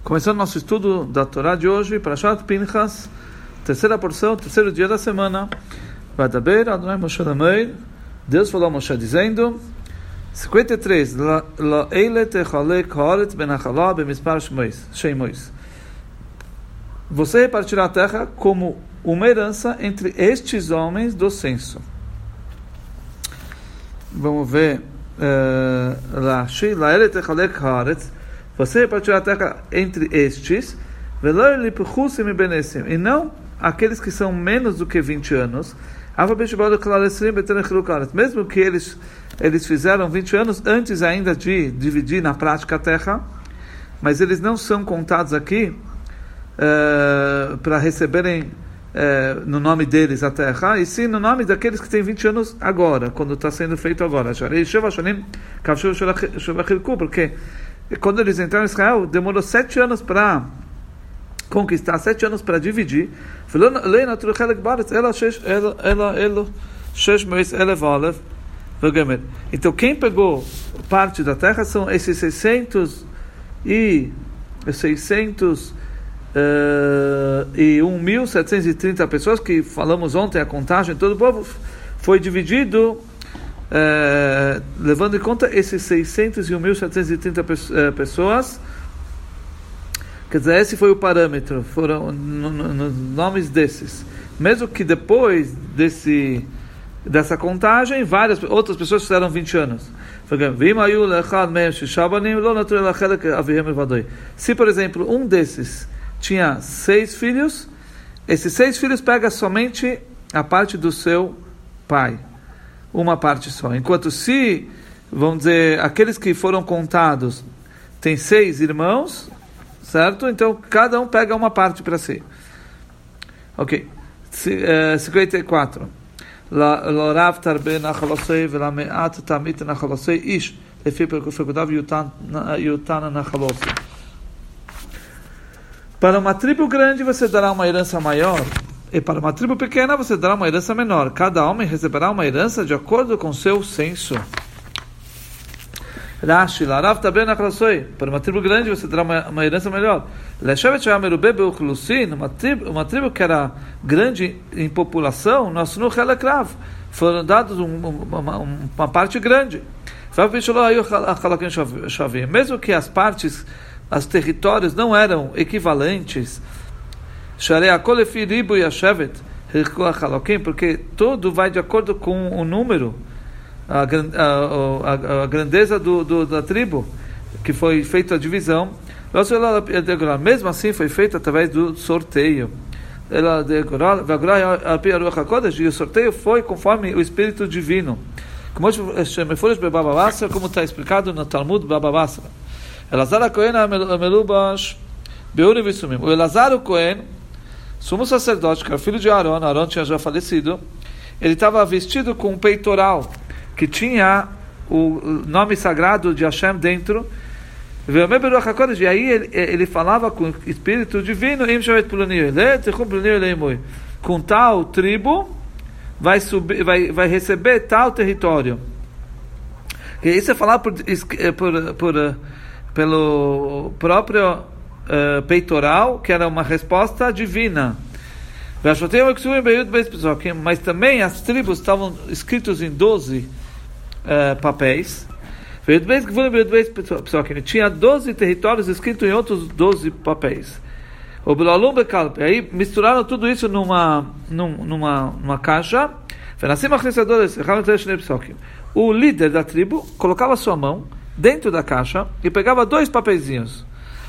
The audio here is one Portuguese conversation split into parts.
Começando nosso estudo da Torá de hoje, Parashat Pinchas, terceira porção, terceiro dia da semana. Vadaber Adonai Moshe Lameir, Deus falou a Moshe dizendo, 53, La'ele techalek haaretz ben hachalá bemispar sheimois. Você repartirá a terra como uma herança entre estes homens do censo. Vamos ver, La'ele techalek haaretz, você repartirá a terra entre estes, e não aqueles que são menos do que 20 anos, mesmo que eles fizeram 20 anos antes ainda de dividir na prática a terra, mas eles não são contados aqui para receberem no nome deles a terra, e sim no nome daqueles que têm 20 anos agora, quando está sendo feito agora. Porque quando eles entraram em Israel, demorou 7 anos para conquistar, 7 anos para dividir. Então quem pegou parte da terra são esses 1.730 pessoas que falamos ontem, a contagem, todo o povo foi dividido levando em conta esses 600 e 1.730 pessoas. Quer dizer, esse foi o parâmetro, foram nos nomes desses. Mesmo que depois dessa contagem, várias outras pessoas fizeram 20 anos. Se, por exemplo, um desses tinha 6 filhos, esses 6 filhos pegam somente a parte do seu pai. Uma parte só. Enquanto se, vamos dizer, aqueles que foram contados têm 6 irmãos, certo? Então, cada um pega uma parte para si. Ok. 54. L'orav tarbe nachalosei v'lameat tamit nachalosei ish lefi perkudav yutana nachalosei. Para uma tribo grande, você dará uma herança maior. E para uma tribo pequena, você dará uma herança menor. Cada homem receberá uma herança de acordo com seu censo. Rashi, Larav também na Klasoi. Para uma tribo grande, você terá uma herança melhor. Uma tribo que era grande em população, nós no Helekrav foram dados uma parte grande. Mesmo que as partes, os territórios não eram equivalentes, porque tudo vai de acordo com o número, a grandeza da tribo, que foi feita a divisão. Mesmo assim foi feito através do sorteio. E o sorteio foi conforme o Espírito Divino, como está explicado no Talmud Baba Basra. Elazar Cohen Melubash Beurim Vissumim. O Elazar Cohen, sumo sacerdote, que era filho de Aaron tinha já falecido, ele estava vestido com um peitoral que tinha o nome sagrado de Hashem dentro, e aí ele falava com o Espírito Divino, com tal tribo vai receber tal território. E isso é falar pelo próprio peitoral, que era uma resposta divina. Mas também as tribos estavam escritos em 12 papéis. Tinha 12 territórios escritos em outros 12 papéis. Aí misturaram tudo isso numa caixa. O líder da tribo colocava sua mão dentro da caixa e pegava 2 papeizinhos.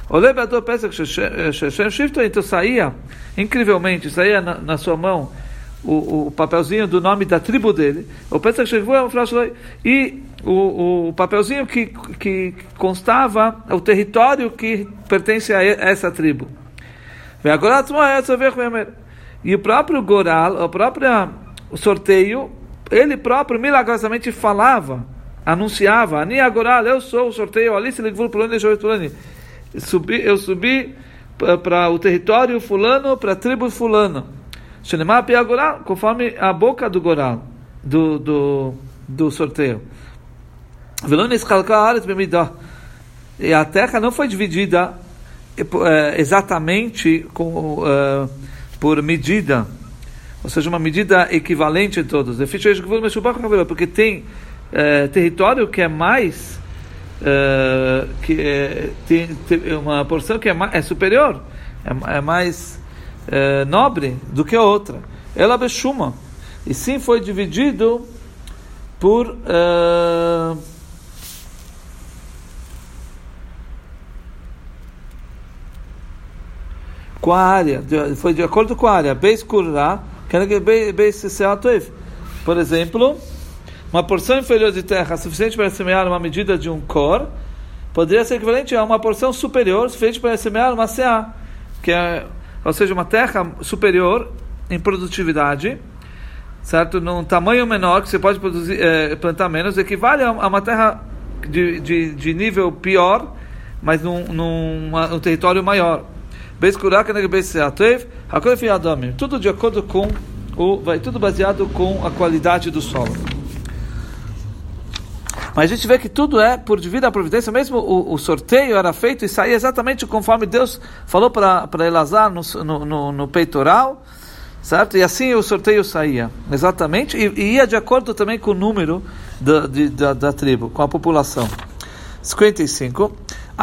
Então saía, incrivelmente, saía na sua mão o papelzinho do nome da tribo dele, e o papelzinho que constava o território que pertence a essa tribo. E o próprio Goral, o sorteio, ele próprio milagrosamente falava, anunciava, Ani Agoral, eu sou o sorteio, ali se ligou fulano. Eu subi para o território fulano, para a tribo fulano. Conforme a boca do Goral, do sorteio. E a terra não foi dividida exatamente por medida, ou seja, uma medida equivalente em todos. Porque tem território que é mais, tem uma porção que é superior, é mais nobre do que a outra. Ela bechuma. E sim foi dividido por com a área, foi de acordo com a área. Por exemplo, uma porção inferior de terra suficiente para semear uma medida de um cor poderia ser equivalente a uma porção superior suficiente para semear uma seá, ou seja, uma terra superior em produtividade, certo? Num tamanho menor, que você pode produzir, plantar menos, equivale a uma terra de nível pior, mas num território maior. Tudo de acordo com tudo baseado com a qualidade do solo. Mas a gente vê que tudo é por devido à providência. Mesmo o sorteio era feito e saía exatamente conforme Deus falou para Elazar no peitoral, certo? E assim o sorteio saía exatamente, e ia de acordo também com o número da tribo, com a população. 55.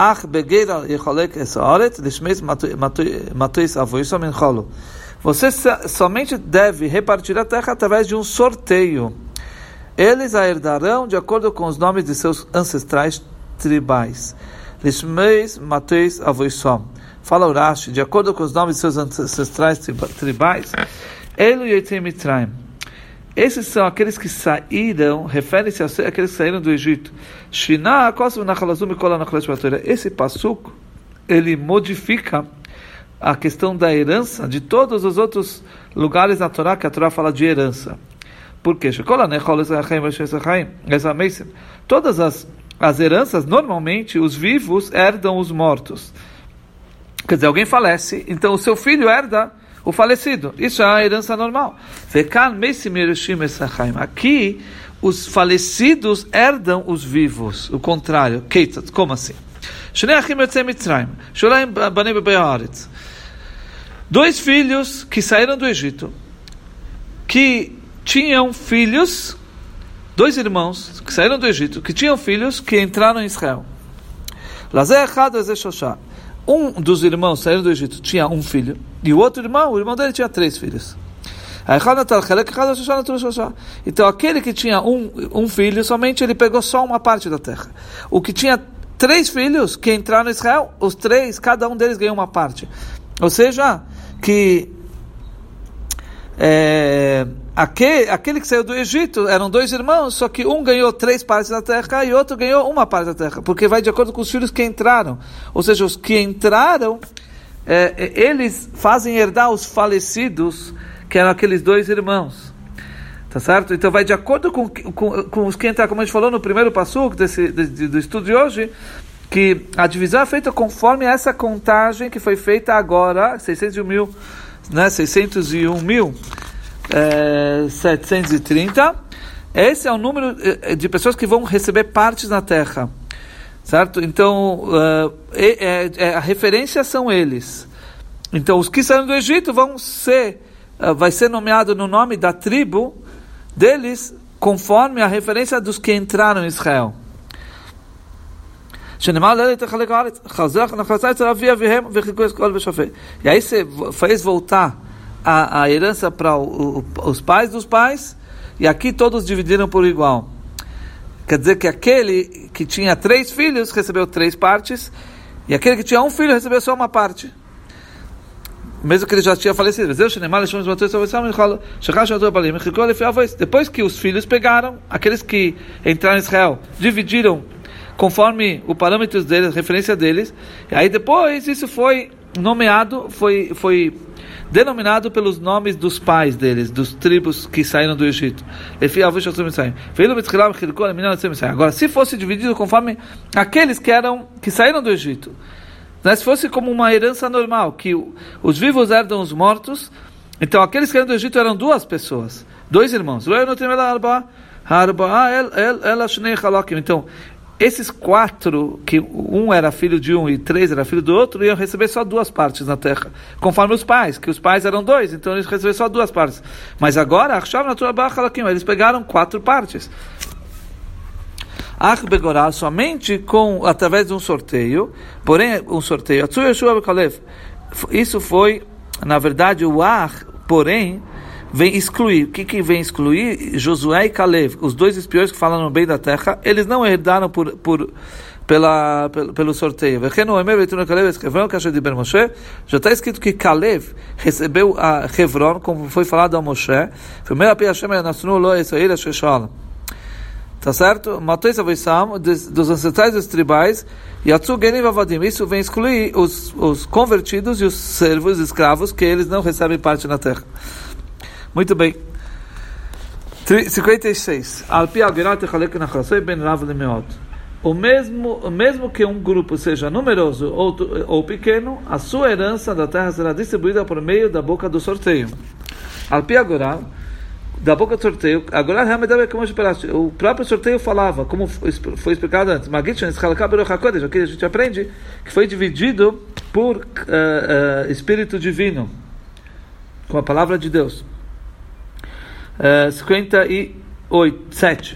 Você somente deve repartir a terra através de um sorteio. Eles a herdarão de acordo com os nomes de seus ancestrais tribais. Fala Urashi, de acordo com os nomes de seus ancestrais tribais, esses são aqueles que saíram, refere-se àqueles que saíram do Egito. Esse passuco, ele modifica a questão da herança de todos os outros lugares na Torá, que a Torá fala de herança. Por quê? Todas as heranças, normalmente, os vivos herdam os mortos. Quer dizer, alguém falece, então o seu filho herda o falecido. Isso é a herança normal. Aqui, os falecidos herdam os vivos. O contrário. Como assim? Dois filhos que saíram do Egito, que tinham filhos, dois irmãos que saíram do Egito, que tinham filhos que entraram em Israel. Um dos irmãos saíram do Egito tinha um filho, e o outro irmão, o irmão dele tinha 3 filhos. Então aquele que tinha um filho, somente ele pegou só uma parte da terra. O que tinha 3 filhos que entraram em Israel, os 3, cada um deles ganhou uma parte. Ou seja, que aquele que saiu do Egito eram 2 irmãos, só que um ganhou 3 partes da terra e outro ganhou uma parte da terra, porque vai de acordo com os filhos que entraram. Ou seja, os que entraram, eles fazem herdar os falecidos, que eram aqueles 2 irmãos. Tá certo? Então vai de acordo com os que entraram, como a gente falou no primeiro passuco do estudo de hoje, que a divisão é feita conforme essa contagem que foi feita agora, 601.730. Esse é o número de pessoas que vão receber partes na terra, certo? Então a referência são eles. Então os que saíram do Egito vai ser nomeado no nome da tribo deles conforme a referência dos que entraram em Israel. E aí você fez voltar a herança para os pais dos pais, e aqui todos dividiram por igual. Quer dizer que aquele que tinha 3 filhos recebeu 3 partes, e aquele que tinha um filho recebeu só uma parte, mesmo que ele já tinha falecido. Depois que os filhos pegaram, aqueles que entraram em Israel dividiram conforme o parâmetro deles, a referência deles, e aí depois isso foi nomeado, foi denominado pelos nomes dos pais deles, dos tribos que saíram do Egito. Agora, se fosse dividido conforme aqueles que saíram do Egito, né? Se fosse como uma herança normal, que os vivos herdam os mortos, então aqueles que saíram do Egito eram 2 pessoas, 2 irmãos. Então esses 4, que um era filho de um e 3 era filho do outro, iam receber só 2 partes na terra, conforme os pais, que os pais eram 2, então eles receberam só 2 partes. Mas agora, eles pegaram 4 partes. Somente através de um sorteio, porém, um sorteio. Isso foi, na verdade, o porém, vem excluir. O que vem excluir? Josué e Caleb, os 2 espiões que falaram bem da terra, eles não herdaram pelo sorteio. Já está escrito que Caleb recebeu a Hebron, como foi falado a Moshe. Tá certo? Matou essa versão dos ancestrais dos tribais e isso vem excluir os convertidos e os servos, escravos, que eles não recebem parte na terra. Muito bem. 56. Mesmo que um grupo seja numeroso ou pequeno, a sua herança da terra será distribuída por meio da boca do sorteio. Da boca do sorteio, agora o próprio sorteio falava, como foi explicado antes, aqui a gente aprende que foi dividido por Espírito Divino, com a palavra de Deus. 57.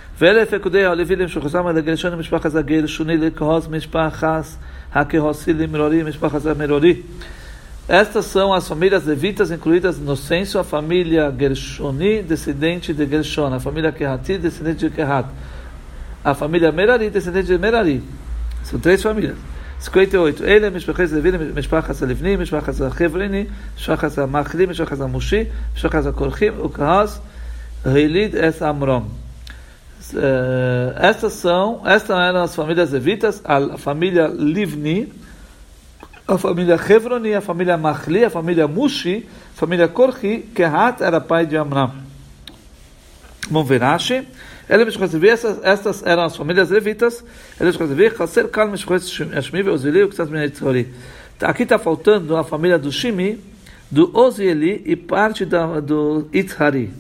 Estas são as famílias levitas incluídas no censo, a família Gershoni, descendente de Gershon, a família Kehati, descendente de Kehat, a família Merari, descendente de Merari. São 3 famílias. 58. Ele, Mishpachas Levi, Mishpachas Livni, Mishpachas Chevrini, Mishpachas Machli, Mishpachas Mushi, Mishpachas Korchim, Ukahas, Hilid es Amrom. Estas eram as famílias levitas, a família Livni, a família Hevroni, a família Machli, a família Mushi, a família Korchi. Kehat era pai de Amram. Vamos ver Rashi. Estas eram as famílias levitas. Aqui está faltando a família do Shimi, do Ozieli e parte do Itzhari.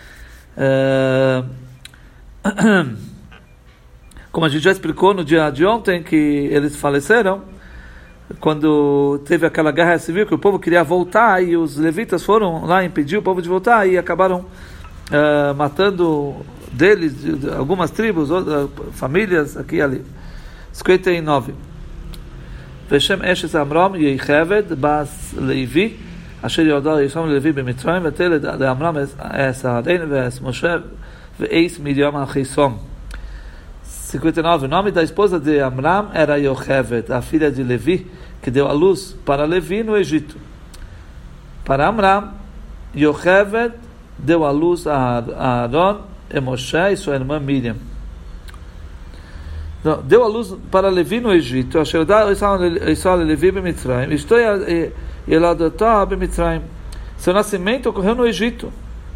Como a gente já explicou no dia de ontem, que eles faleceram, quando teve aquela guerra civil, que o povo queria voltar, e os levitas foram lá impedir o povo de voltar, e acabaram matando deles, algumas tribos, famílias, aqui e ali. 59. Veshem Eshes Amram Yecheved Bas Levi Asher Yodal Yisham Levi B'Mitzrayim Vetel Amram Es Ha'arein Ve'es Moshe Ve'eis Miriam Achisom. 59. O nome da esposa de Amram era Yocheved, a filha de Levi, que deu a luz para Levi no Egito. Para Amram, Yocheved deu a luz a Aaron e Moshe e sua irmã Miriam. Deu a luz para Levi no Egito. Seu nascimento ocorreu no Egito.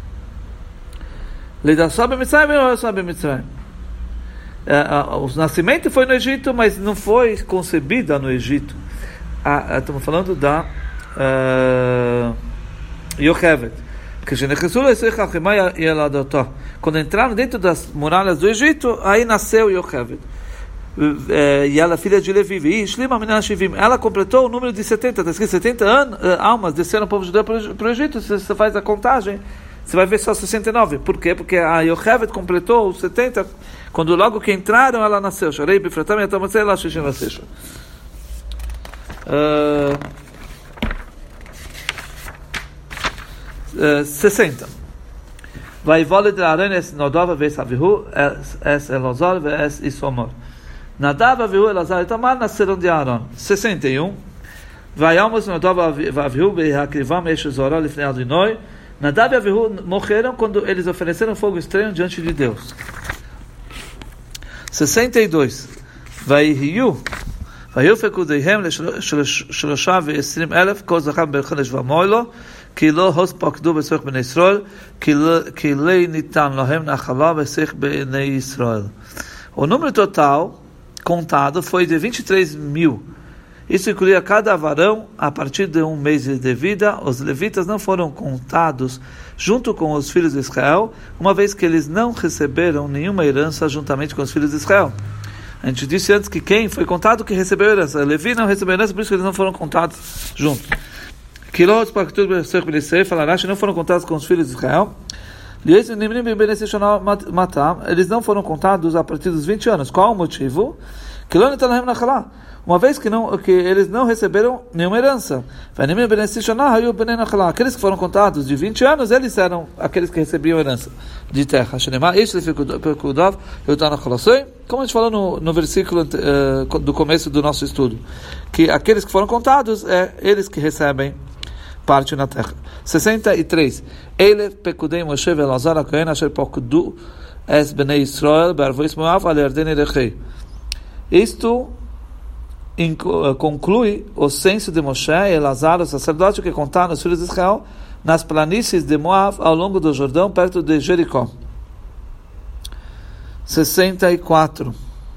O nascimento foi no Egito, mas não foi concebida no Egito. Estamos falando da Yocheved. Quando entraram dentro das muralhas do Egito, aí nasceu Yocheved. E ela é filha de Levi. Ela completou o número de 70. Está escrito 70 almas desceram o povo judeu para o Egito. Se você faz a contagem, você vai ver só 69. Por quê? Porque a Yocheved completou os 70. Quando logo que entraram, ela nasceu. 60. Vai voltar a Aaron es Nadav ve'es Avihu es Elazar ve'es Isomor. Nadav, Avihu, Elazar e Tamar nasceram de Aaron. 61. Vai almos Nadav Avihu be'hakrivam esh Zorah lifnei Adonai. Nadav e Avihu morreram quando eles ofereceram fogo estranho diante de Deus. 62. Vaihiu fekudeihem לשלושה ועשרים אלף כל זכר בחודש ומועד לו כי לא הוספקדו בצורך בני ישראל כי לא ניתן להם נחלה בצורך בני ישראל. O número total contado foi de 23.000. Isso incluía cada varão a partir de um mês de vida. Os levitas não foram contados junto com os filhos de Israel, uma vez que eles não receberam nenhuma herança juntamente com os filhos de Israel. A gente disse antes que quem foi contado que recebeu herança. Levi não recebeu herança, por isso que eles não foram contados juntos. Não foram contados com os filhos de Israel. Eles não foram contados a partir dos 20 anos. Qual o motivo? Uma vez que eles não receberam nenhuma herança. Aqueles que foram contados de 20 anos, eles eram aqueles que recebiam herança de terra. Como a gente falou no versículo do começo do nosso estudo, que aqueles que foram contados, eles que recebem parte na terra. 63. Ele pekudei Moshe ve'Elazar HaKohen asher pokdu es bnei Israel be'arvois Moav al Yarden erechei. Isto conclui o censo de Moshe e Elazar, o sacerdote, que contaram os filhos de Israel nas planícies de Moav ao longo do Jordão, perto de Jericó. 64.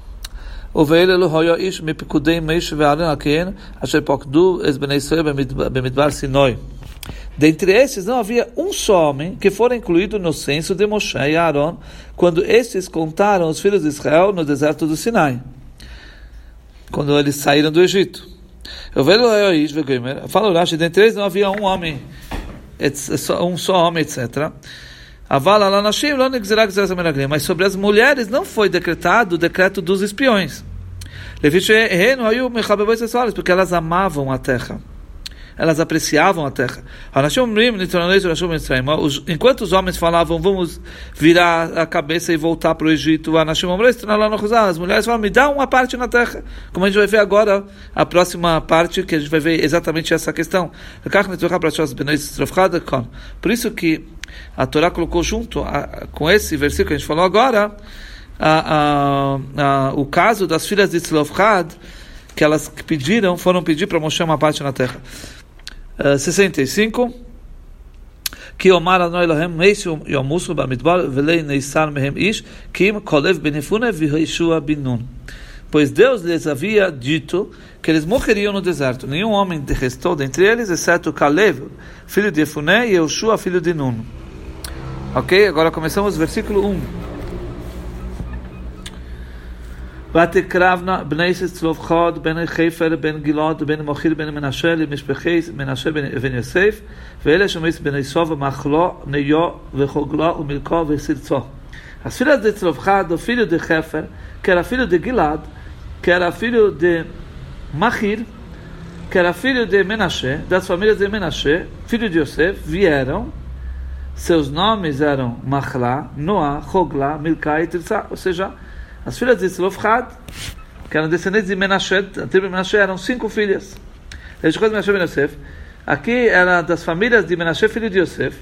Dentre estes não havia um só homem que fora incluído no censo de Moshe e Aaron quando estes contaram os filhos de Israel no deserto do Sinai, quando eles saíram do Egito. Fala o Rashi, dentre eles não havia um só homem, etc. Mas sobre as mulheres não foi decretado o decreto dos espiões, porque elas amavam a terra, elas apreciavam a terra. Enquanto os homens falavam, vamos virar a cabeça e voltar para o Egito, as mulheres falavam, me dá uma parte na terra. Como a gente vai ver agora, a próxima parte, que a gente vai ver exatamente essa questão. Por isso que a Torá colocou junto com esse versículo que a gente falou agora, o caso das filhas de Tzlofchad, que elas foram pedir para Moshe uma parte na terra. 65. Que Omar Adonai Elohem Meisu Yomusu Bamidbar Velei Neisar Mehem Ish Kim Kolev Benefune Viheshua Binun. Pois Deus lhes havia dito que eles morreriam no deserto. Nenhum homem restou dentre eles, exceto Kalev, filho de Efuné, e Yoshua, filho de Nun. Ok? Agora começamos o versículo 1. ותקרבנה בני צלופחד בן חיפר בן גלעד בן מוכיר בן מנשה למשפחי מנשה בן יוסף ואלה שמות בני סוב מחלו ניו וחוגלה ומלכו וסרצו. As filhas de Tzlofchad, o filho de Hefer, que era filho de Gilad, que era filho de Machir, que era filho de Menashe, das famílias de Menashe, filho de Yosef, vieram. Seus nomes eram Machla, Noah, Hogla, Milcá e Tirza, ou seja, as filhas de Tzlofchad, que eram descendentes de Menashe, a tribo de Menashe, eram 5 filhas. Menashe ben Yosef. Aqui era das famílias de Menashe, filho de Yosef.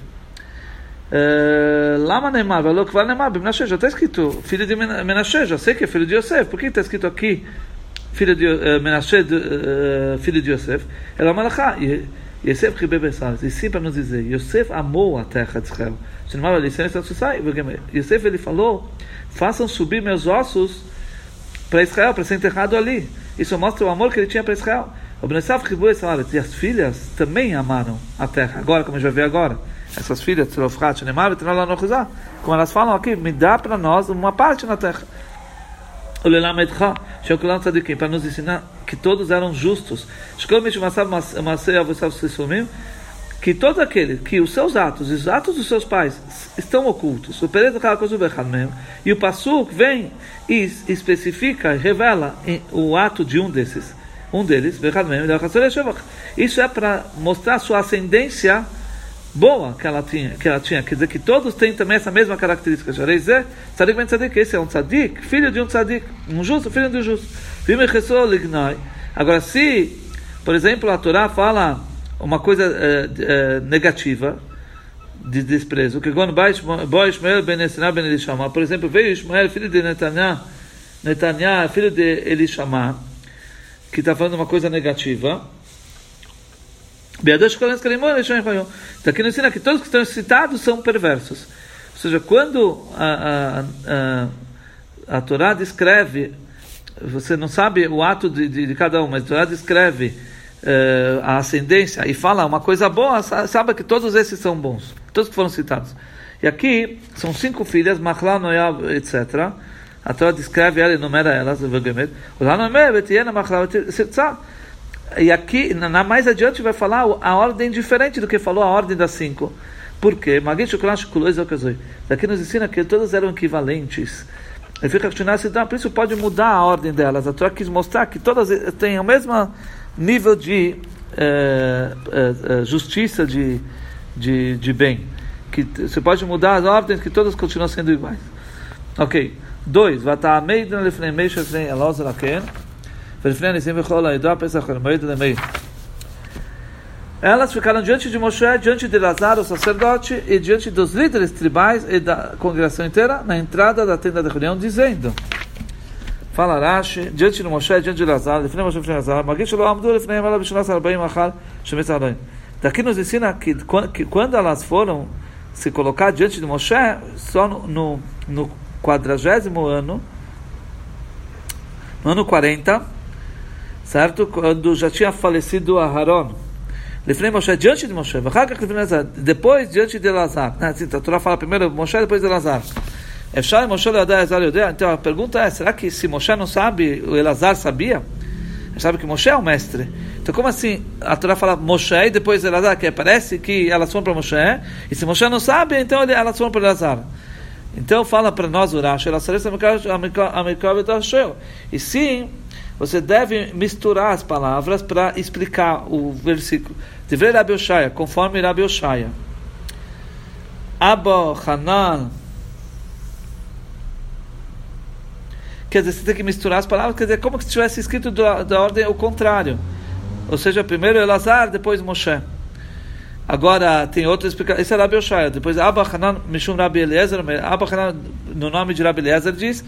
Lama Neymar, valor que vai Neymar, Menashe, já está escrito filho de Menashe, já sei que é filho de Yosef. Por que está escrito aqui filho de Menashe, filho de Yosef? Ela malachá, Yosef ribebessal. E sim para nos dizer, Yosef amou a terra de Israel. Yosef, ele falou, façam subir meus ossos para Israel, para ser enterrado ali. Isso mostra o amor que ele tinha para Israel. E as filhas também amaram a terra. Agora, como a gente vai ver agora, essas filhas, como elas falam aqui, me dá para nós uma parte na terra. Para nos ensinar que todos eram justos. Que todos aqueles que os seus atos e os atos dos seus pais estão ocultos. E o Passuk vem e especifica, revela o ato de um deles. Isso é para mostrar a sua ascendência boa que ela tinha. Quer dizer que todos têm também essa mesma característica. Esse é um tzadik, filho de um tzadik, um justo, filho de um justo. Agora, se, por exemplo, a Torá fala uma coisa negativa, de desprezo, que quando Ishmael ben Esna ben Elishama, por exemplo, veio Ishmael, filho de Netanya, filho de Elishama, que está falando uma coisa negativa. Então aqui nos ensina que todos que estão citados são perversos. Ou seja, quando a Torá descreve, você não sabe o ato de cada um, mas a Torá descreve a ascendência e fala uma coisa boa, sabe que todos esses são bons, todos que foram citados. E aqui são 5 filhas, Machla, Noia, etc. A Torá descreve ela e enumera elas. E aqui, mais adiante, vai falar a ordem diferente do que falou a ordem das 5. Por quê? Daqui nos ensina que todas eram equivalentes. Por isso pode mudar a ordem delas. A Torá quis mostrar que todas têm o mesmo nível de justiça, de bem. Que você pode mudar as ordens, que todas continuam sendo iguais. Ok. 2. Elas ficaram diante de Moshe, diante de Elazar, o sacerdote, e diante dos líderes tribais e da congregação inteira, na entrada da tenda da reunião, dizendo: fala Rashi, diante de Moshe, diante de Elazar, daqui nos ensina que quando elas foram se colocar diante de Moshe, só no 40º ano, no ano 40, certo? Quando já tinha falecido Aharon, Moshe, diante de Moshe, depois diante de Elazar. A Torá fala primeiro Moshe, depois de Elazar. Então a pergunta é: será que se Moshe não sabe, o Elazar sabia? Ele sabe que Moshe é o mestre. Então como assim a Torá fala Moshe e depois Elazar, que parece que elas foram para Moshe, e se Moshe não sabe, então elas foram para Elazar. Então fala para nós o Rashi, e sim, você deve misturar as palavras para explicar o versículo. Deveria Rabi Oshaya, conforme Rabi Oshaya. Abba Hanan. Quer dizer, você tem que misturar as palavras, quer dizer, como se tivesse escrito da ordem ao contrário. Ou seja, primeiro Elazar, depois Moshe. Agora tem outra explicação. Esse é Rabi Oshaya. Depois Abba Hanan Mishum Rabi Eliezer. Abba Hanan, no nome de Rabi Eliezer, diz: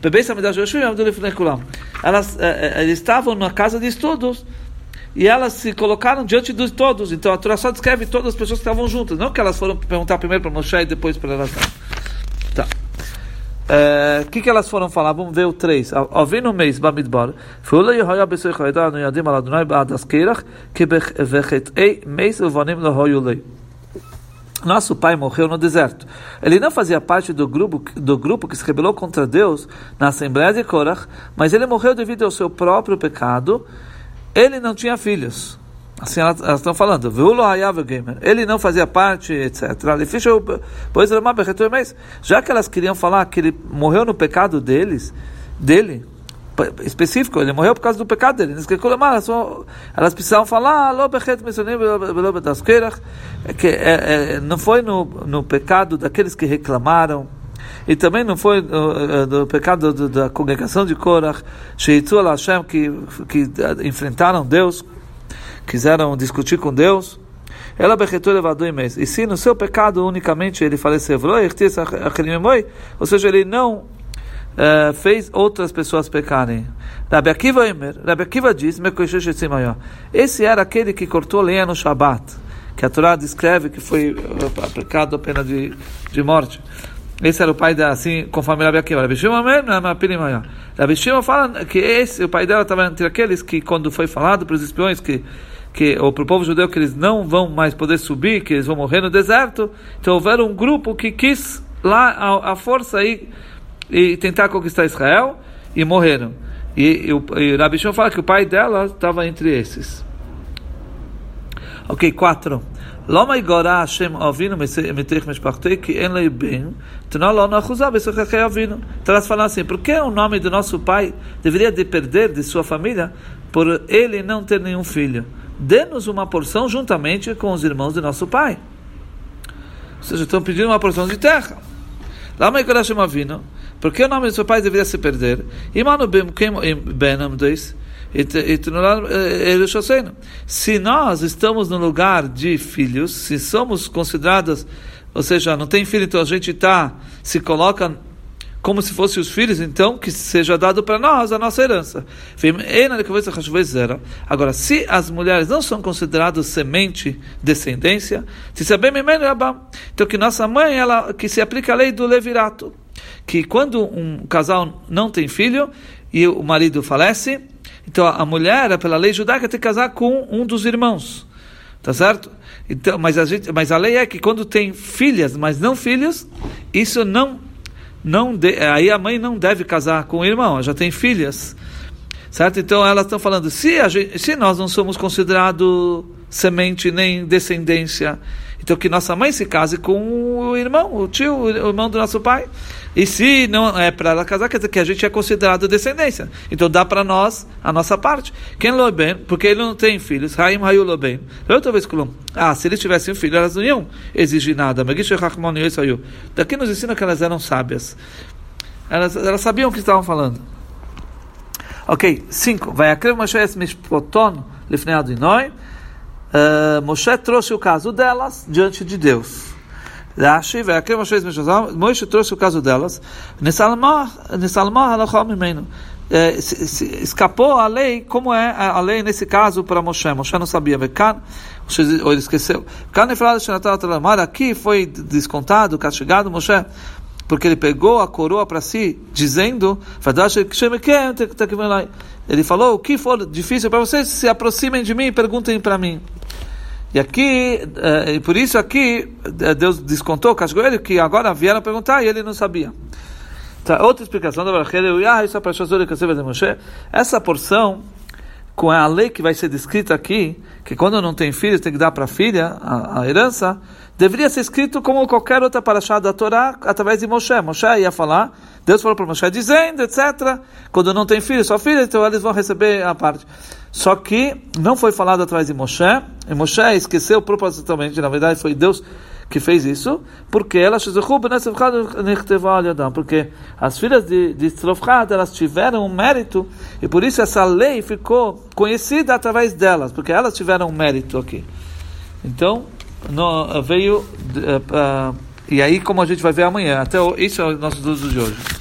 eles estavam na casa de estudos e elas se colocaram diante de todos. Então a Torá só descreve todas as pessoas que estavam juntas, não que elas foram perguntar primeiro para Moshe e depois para elas. Tá. O que elas foram falar? Vamos ver o 3. Ouvindo o mês Bamidbar, nosso pai morreu no deserto. Ele não fazia parte do grupo que se rebelou contra Deus na Assembleia de Korach, mas ele morreu devido ao seu próprio pecado. Ele não tinha filhos. Assim elas estão falando. Ele não fazia parte, etc. Já que elas queriam falar que ele morreu no pecado dele, específico, ele morreu por causa do pecado dele. Elas precisavam falar que não foi no pecado daqueles que reclamaram, e também não foi no pecado da congregação de Korach, que enfrentaram Deus, quiseram discutir com Deus. E se no seu pecado unicamente ele faleceu, ou seja, ele não fez outras pessoas pecarem. Rabi Akiva diz: esse era aquele que cortou lenha no Shabat, que a Torá descreve que foi aplicado a pena de morte. Esse era o pai dela, assim, conforme Rabi Akiva. Rabi Shimon fala que o pai dela estava entre aqueles que, quando foi falado para os espiões ou para o povo judeu que eles não vão mais poder subir, que eles vão morrer no deserto, então houver um grupo que quis lá a força e tentar conquistar Israel, e morreram. E Rabi Shimon fala que o pai dela estava entre esses. Ok, 4. Então elas falam assim: por que o nome do nosso pai deveria perder de sua família por ele não ter nenhum filho? Dê-nos uma porção juntamente com os irmãos de nosso pai. Ou seja, estão pedindo uma porção de terra. Por que o nome do seu pai deveria se perder? Se nós estamos no lugar de filhos, se somos considerados, ou seja, não tem filho, então a gente se coloca como se fossem os filhos, então que seja dado para nós a nossa herança. Agora, se as mulheres não são consideradas semente, descendência, então que nossa mãe, que se aplica a lei do levirato, que quando um casal não tem filho e o marido falece, então a mulher, pela lei judaica, tem que casar com um dos irmãos, tá certo? Então, mas a lei é que quando tem filhas, mas não filhos, isso não aí a mãe não deve casar com o irmão, ela já tem filhas, certo? Então elas estão falando, se nós não somos considerados semente nem descendência, então que nossa mãe se case com o irmão, o tio, o irmão do nosso pai. E se não é para ela casar, quer dizer que a gente é considerado descendência. Então dá para nós a nossa parte. Quem loben, porque ele não tem filhos. Haim hayu loben. Outra vez se eles tivessem filho, elas não iam exigir nada. Daqui nos ensina que elas eram sábias. Elas sabiam o que estavam falando. Ok, 5. Vai akrev Moshe es mishpoton lifnei Adonai. Moshe trouxe o caso delas diante de Deus. Rashi, Moshe trouxe o caso delas. Escapou a lei, como é a lei nesse caso para Moshe. Moshe não sabia, ou ele esqueceu. Aqui foi descontado, castigado Moshe, porque ele pegou a coroa para si, dizendo, ele falou, o que for difícil para vocês, se aproximem de mim e perguntem para mim. E aqui, por isso aqui, Deus descontou, castigou ele, que agora vieram perguntar e ele não sabia. Então, outra explicação, essa porção, com a lei que vai ser descrita aqui, que quando não tem filhos tem que dar para a filha a herança, deveria ser escrito como qualquer outra parashá da Torá, através de Moshe. Moshe ia falar, Deus falou para Moshe, dizendo, etc. Quando não tem filho, só filha, então eles vão receber a parte. Só que não foi falado através de Moshe, e Moshe esqueceu propositalmente, na verdade foi Deus que fez isso, porque porque as filhas de Tzlofchad, elas tiveram um mérito, e por isso essa lei ficou conhecida através delas, porque elas tiveram um mérito aqui. Então, veio, e aí como a gente vai ver amanhã, isso é o nosso uso de hoje.